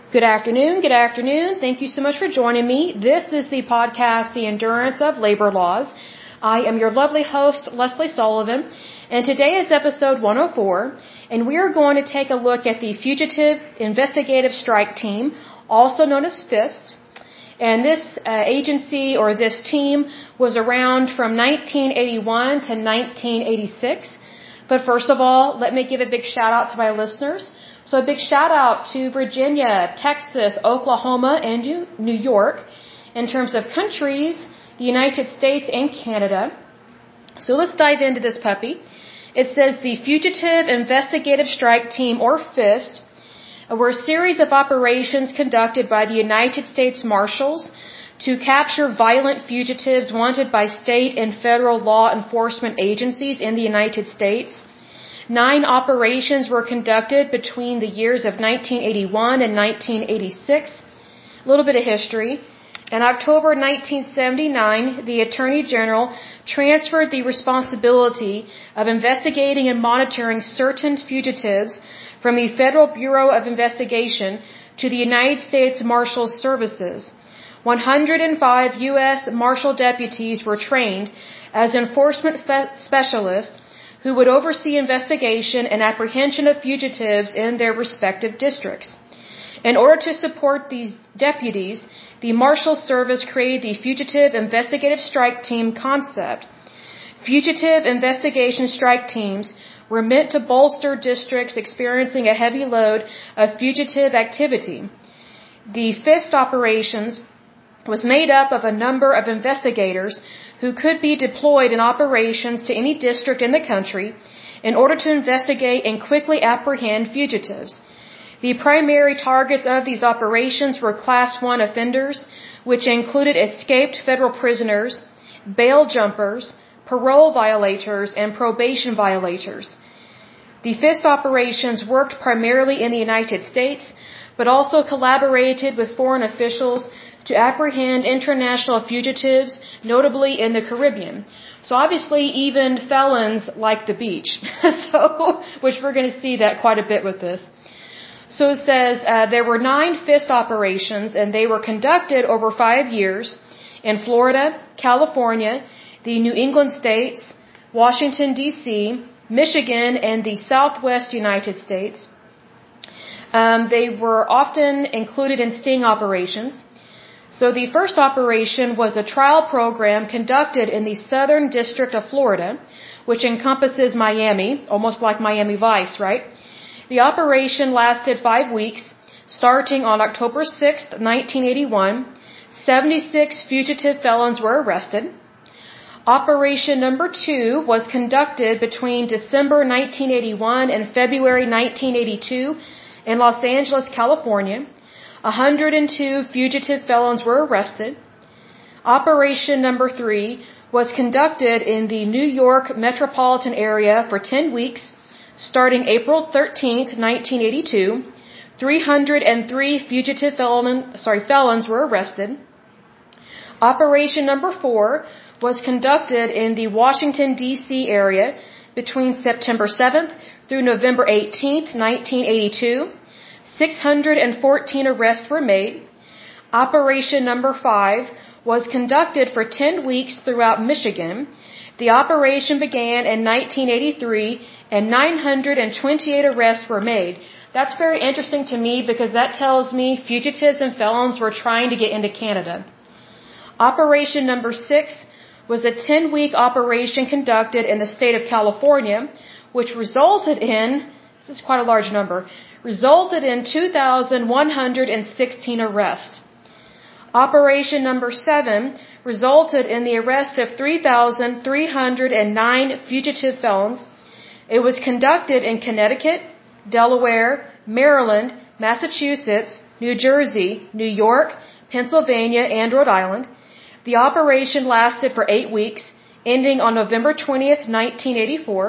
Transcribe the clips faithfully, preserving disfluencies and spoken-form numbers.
Good afternoon, good afternoon. Thank you so much for joining me. This is the podcast, The Endurance of Labor Laws. I am your lovely host, Leslie Sullivan, and today is episode one oh four, and we are going to take a look at the Fugitive Investigative Strike Team, also known as FIST. And this uh, agency or this team was around from nineteen eighty-one to nineteen eighty-six. But first of all, let me give a big shout out to my listeners. So a big shout out to Virginia, Texas, Oklahoma, and New York. In terms of countries, the United States and Canada. So let's dive into this puppy. It says the Fugitive Investigative Strike Team, or FIST, were a series of operations conducted by the United States Marshals to capture violent fugitives wanted by state and federal law enforcement agencies in the United States. Nine operations were conducted between the years of nineteen eighty-one and nineteen eighty-six. A little bit of history. In October nineteen seventy-nine, the Attorney General transferred the responsibility of investigating and monitoring certain fugitives from the Federal Bureau of Investigation to the United States Marshal Services. one hundred five U S Marshal deputies were trained as enforcement specialists who would oversee investigation and apprehension of fugitives in their respective districts. In order to support these deputies, the Marshal Service created the Fugitive Investigative Strike Team concept. Fugitive investigation strike teams were meant to bolster districts experiencing a heavy load of fugitive activity. The FIST operations was made up of a number of investigators who could be deployed in operations to any district in the country in order to investigate and quickly apprehend fugitives. The primary targets of these operations were Class one offenders, which included escaped federal prisoners, bail jumpers, parole violators, and probation violators. The FIST operations worked primarily in the United States, but also collaborated with foreign officials to apprehend international fugitives, notably in the Caribbean. So obviously even felons like the beach, so which we're going to see that quite a bit with this. So it says uh, there were nine FIST operations, and they were conducted over five years in Florida, California, the New England states, Washington, D C, Michigan, and the Southwest United States. Um, they were often included in sting operations. So the first operation was a trial program conducted in the Southern District of Florida, which encompasses Miami, almost like Miami Vice, right? The operation lasted five weeks, starting on October sixth, nineteen eighty-one. seventy-six fugitive felons were arrested. Operation number two was conducted between December nineteen eighty-one and February nineteen eighty-two in Los Angeles, California. one hundred two fugitive felons were arrested. Operation number three was conducted in the New York metropolitan area for ten weeks, starting April thirteenth, nineteen eighty-two. three hundred three fugitive felon, sorry, felons were arrested. Operation number four was conducted in the Washington, D C area between September seventh through November eighteenth, nineteen eighty-two. six hundred fourteen arrests were made. Operation number five was conducted for ten weeks throughout Michigan. The operation began in nineteen eighty-three, and nine hundred twenty-eight arrests were made. That's very interesting to me because that tells me fugitives and felons were trying to get into Canada. Operation number six was a ten-week operation conducted in the state of California, which resulted in, this is quite a large number, resulted in two thousand one hundred sixteen arrests. Operation number seven resulted in the arrest of three thousand three hundred nine fugitive felons. It was conducted in Connecticut, Delaware, Maryland, Massachusetts, New Jersey, New York, Pennsylvania, and Rhode Island. The operation lasted for eight weeks, ending on November twentieth, nineteen eighty-four.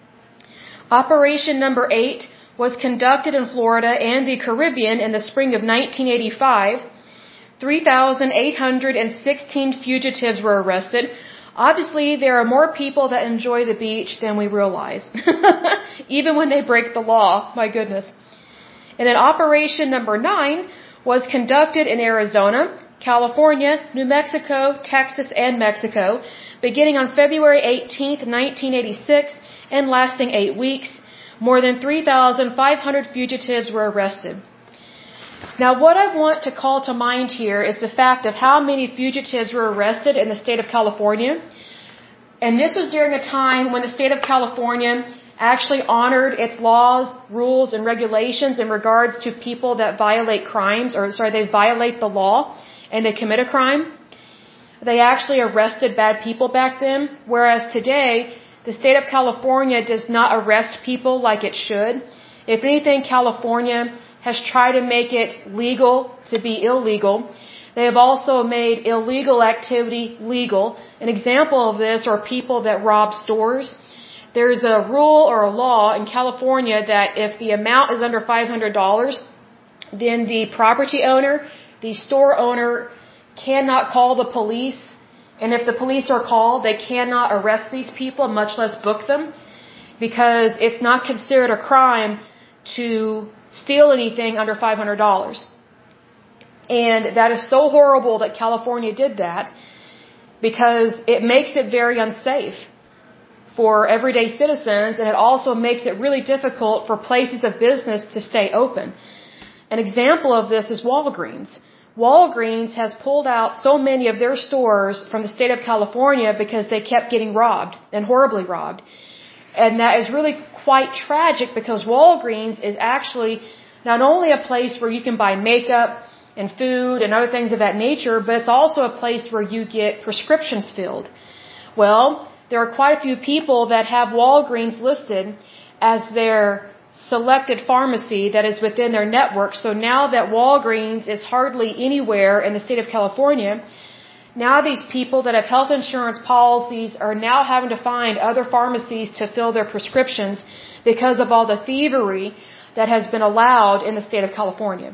Operation number eight was conducted in Florida and the Caribbean in the spring of nineteen eighty-five. three thousand eight hundred sixteen fugitives were arrested. Obviously, there are more people that enjoy the beach than we realize, even when they break the law. My goodness. And then Operation number nine was conducted in Arizona, California, New Mexico, Texas, and Mexico, beginning on February eighteenth, nineteen eighty-six, and lasting eight weeks. More than three thousand five hundred fugitives were arrested. Now, what I want to call to mind here is the fact of how many fugitives were arrested in the state of California. And this was during a time when the state of California actually honored its laws, rules, and regulations in regards to people that violate crimes, or sorry, they violate the law and they commit a crime. They actually arrested bad people back then, whereas today, the state of California does not arrest people like it should. If anything, California has tried to make it legal to be illegal. They have also made illegal activity legal. An example of this are people that rob stores. There's a rule or a law in California that if the amount is under five hundred dollars, then the property owner, the store owner, cannot call the police. And if the police are called, they cannot arrest these people, much less book them, because it's not considered a crime to steal anything under five hundred dollars. And that is so horrible that California did that, because it makes it very unsafe for everyday citizens, and it also makes it really difficult for places of business to stay open. An example of this is Walgreens. Walgreens has pulled out so many of their stores from the state of California because they kept getting robbed, and horribly robbed. And that is really quite tragic, because Walgreens is actually not only a place where you can buy makeup and food and other things of that nature, but it's also a place where you get prescriptions filled. Well, there are quite a few people that have Walgreens listed as their selected pharmacy that is within their network. So now that Walgreens is hardly anywhere in the state of California, now these people that have health insurance policies are now having to find other pharmacies to fill their prescriptions because of all the thievery that has been allowed in the state of California.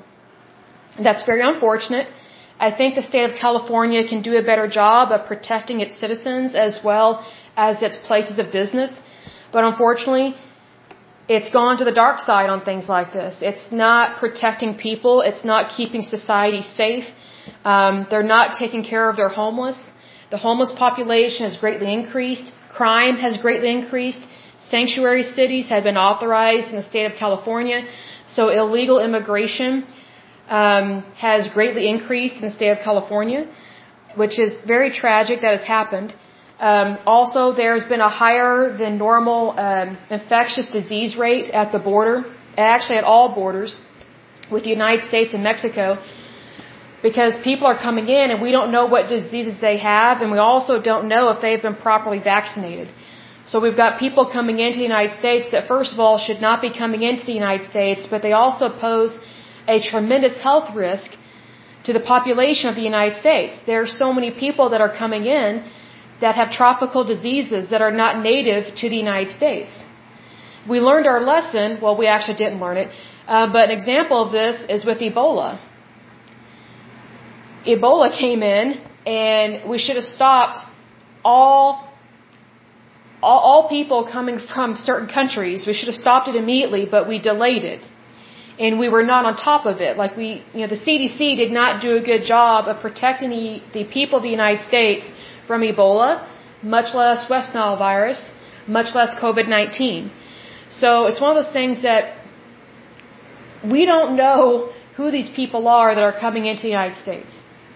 That's very unfortunate. I think the state of California can do a better job of protecting its citizens as well as its places of business. But unfortunately, it's gone to the dark side on things like this. It's not protecting people. It's not keeping society safe. Um, they're not taking care of their homeless. The homeless population has greatly increased. Crime has greatly increased. Sanctuary cities have been authorized in the state of California. So illegal immigration um, has greatly increased in the state of California, which is very tragic that has happened. Um, also, there's been a higher than normal um, infectious disease rate at the border, actually at all borders, with the United States and Mexico, because people are coming in and we don't know what diseases they have, and we also don't know if they've been properly vaccinated. So we've got people coming into the United States that, first of all, should not be coming into the United States, but they also pose a tremendous health risk to the population of the United States. There are so many people that are coming in that have tropical diseases that are not native to the United States. We learned our lesson. Well, we actually didn't learn it. Uh, but an example of this is with Ebola. Ebola came in, and we should have stopped all, all, all people coming from certain countries. We should have stopped it immediately, but we delayed it. And we were not on top of it. Like we, you know, the C D C did not do a good job of protecting the, the people of the United States from Ebola, much less West Nile virus, much less COVID nineteen. So it's one of those things that we don't know who these people are that are coming into the United States.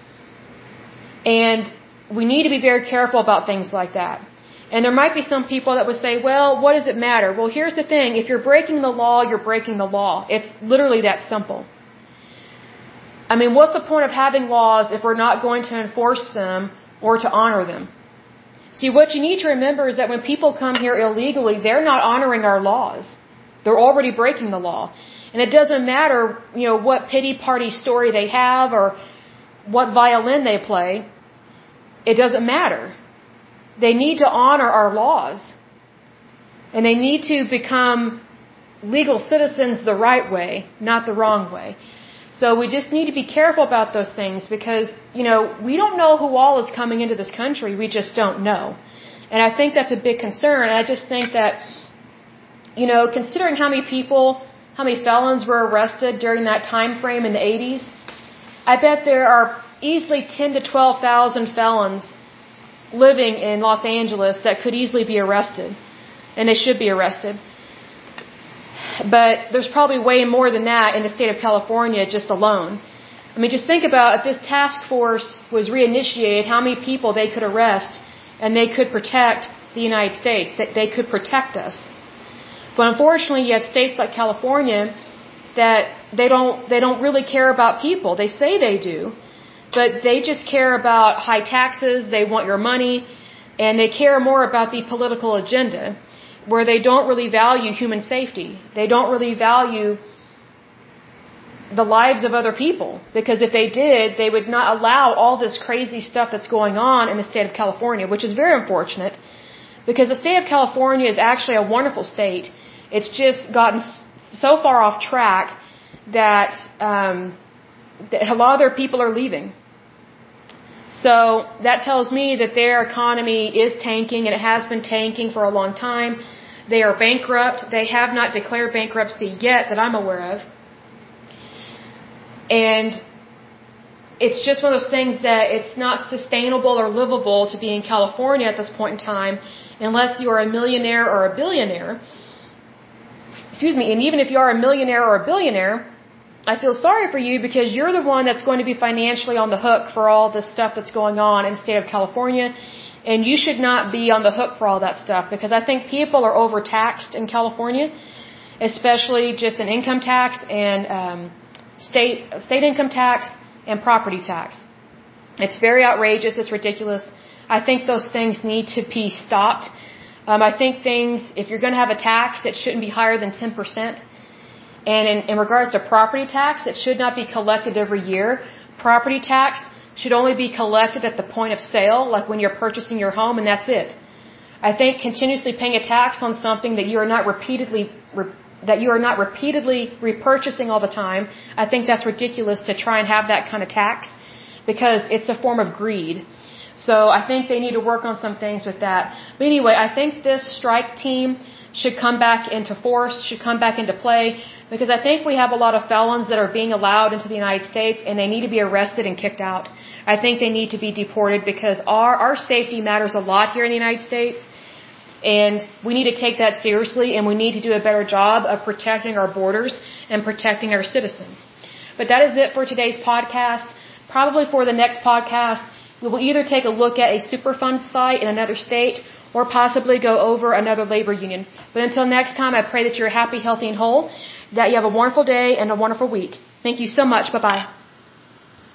And we need to be very careful about things like that. And there might be some people that would say, well, what does it matter? Well, here's the thing. If you're breaking the law, you're breaking the law. It's literally that simple. I mean, what's the point of having laws if we're not going to enforce them or to honor them? See, what you need to remember is that when people come here illegally, they're not honoring our laws. They're already breaking the law. And it doesn't matter, you know, what pity party story they have or what violin they play. It doesn't matter. They need to honor our laws. And they need to become legal citizens the right way, not the wrong way. So we just need to be careful about those things because, you know, we don't know who all is coming into this country. We just don't know. And I think that's a big concern. And I just think that, you know, considering how many people, how many felons were arrested during that time frame in the eighties, I bet there are easily ten to twelve thousand felons living in Los Angeles that could easily be arrested, and they should be arrested. But there's probably way more than that in the state of California just alone. I mean, just think about if this task force was reinitiated, how many people they could arrest and they could protect the United States, that they could protect us. But unfortunately, you have states like California that they don't they don't really care about people. They say they do, but they just care about high taxes, they want your money, and they care more about the political agenda, where they don't really value human safety. They don't really value the lives of other people, because if they did, they would not allow all this crazy stuff that's going on in the state of California, which is very unfortunate, because the state of California is actually a wonderful state. It's just gotten so far off track that, um, that a lot of their people are leaving. So that tells me that their economy is tanking, and it has been tanking for a long time. They are bankrupt. They have not declared bankruptcy yet that I'm aware of. And it's just one of those things that it's not sustainable or livable to be in California at this point in time unless you are a millionaire or a billionaire. Excuse me, and even if you are a millionaire or a billionaire, I feel sorry for you because you're the one that's going to be financially on the hook for all this stuff that's going on in the state of California, and you should not be on the hook for all that stuff, because I think people are overtaxed in California, especially just in income tax and um, state state income tax and property tax. It's very outrageous. It's ridiculous. I think those things need to be stopped. Um, I think things, if you're going to have a tax, it shouldn't be higher than ten percent. And in, in regards to property tax, it should not be collected every year. Property tax should only be collected at the point of sale, like when you're purchasing your home, and that's it. I think continuously paying a tax on something that you are not repeatedly re, that you are not repeatedly repurchasing all the time, I think that's ridiculous to try and have that kind of tax, because it's a form of greed. So I think they need to work on some things with that. But anyway, I think this strike team should come back into force, should come back into play, because I think we have a lot of felons that are being allowed into the United States, and they need to be arrested and kicked out. I think they need to be deported, because our, our safety matters a lot here in the United States, and we need to take that seriously, and we need to do a better job of protecting our borders and protecting our citizens. But that is it for today's podcast. Probably for the next podcast, we will either take a look at a Superfund site in another state, or possibly go over another labor union. But until next time, I pray that you're happy, healthy, and whole, that you have a wonderful day and a wonderful week. Thank you so much. Bye-bye.